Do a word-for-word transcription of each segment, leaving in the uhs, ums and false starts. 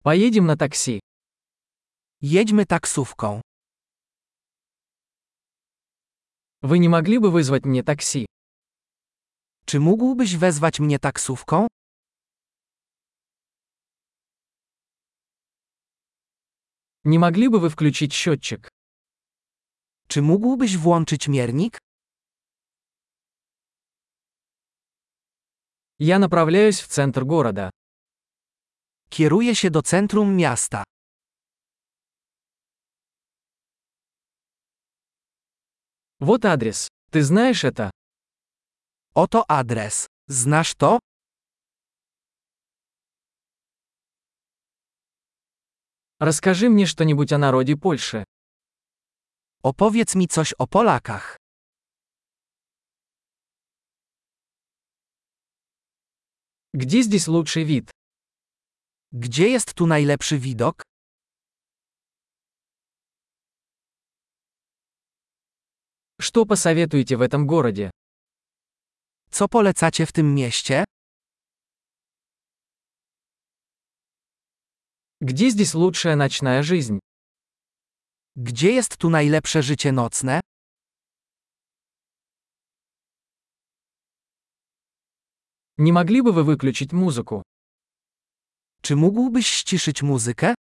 Поедем на такси. Jedźmy taksówką. Вы не могли бы вызвать мне такси? Czy mógłbyś wezwać mnie taksówką? Не могли бы вы включить счетчик? Czy mógłbyś włączyć miernik? Я направляюсь в центр города. Kieruję się do centrum miasta. Вот адрес. Ты знаешь это? Oto adres. Znasz to? Расскажи мне что-нибудь о народе Польши. Opowiedz mi coś o Polakach. Где здесь лучший вид? Gdzie jest tu najlepszy widok? Что посоветуете в этом городе? Co polecacie w tym mieście? Где здесь лучшая ночная жизнь? Gdzie jest tu najlepsze życie nocne? Не могли бы вы выключить музыку? Czy mógłbyś ściszyć muzykę?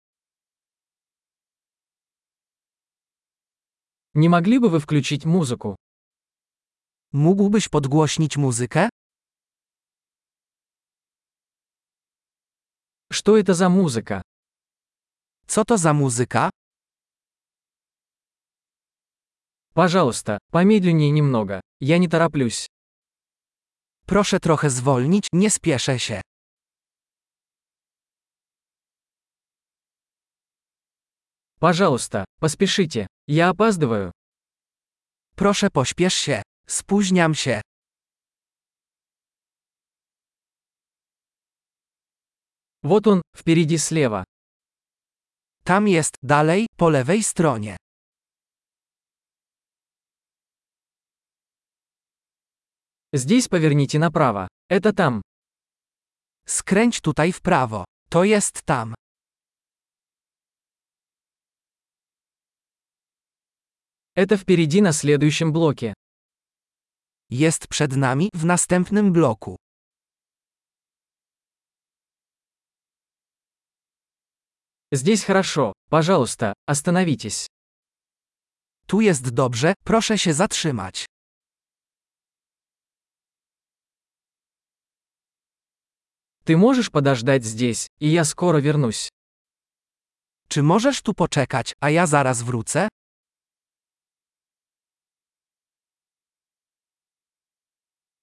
Не могли бы вы включить музыку? Mógłbyś podgłośnić muzykę? Что это за музыка? Co to za muzyka? Пожалуйста, помедленнее немного. Я не тороплюсь. Proszę trochę zwolnić, nie spieszę się. Пожалуйста, поспешите. Я опаздываю. Proszę pośpiesz się. Spóźniam się. Вот он, впереди слева. Tam jest, dalej, po lewej stronie. Здесь поверните направо. Это там. Skręć tutaj w prawo. To jest tam. Это впереди на следующем блоке. Jest przed nami, w następnym bloku. Здесь хорошо. Пожалуйста, остановитесь. Tu jest dobrze, proszę się zatrzymać. Ты можешь подождать здесь, и я скоро вернусь. Czy możesz tu poczekać, a ja zaraz wrócę?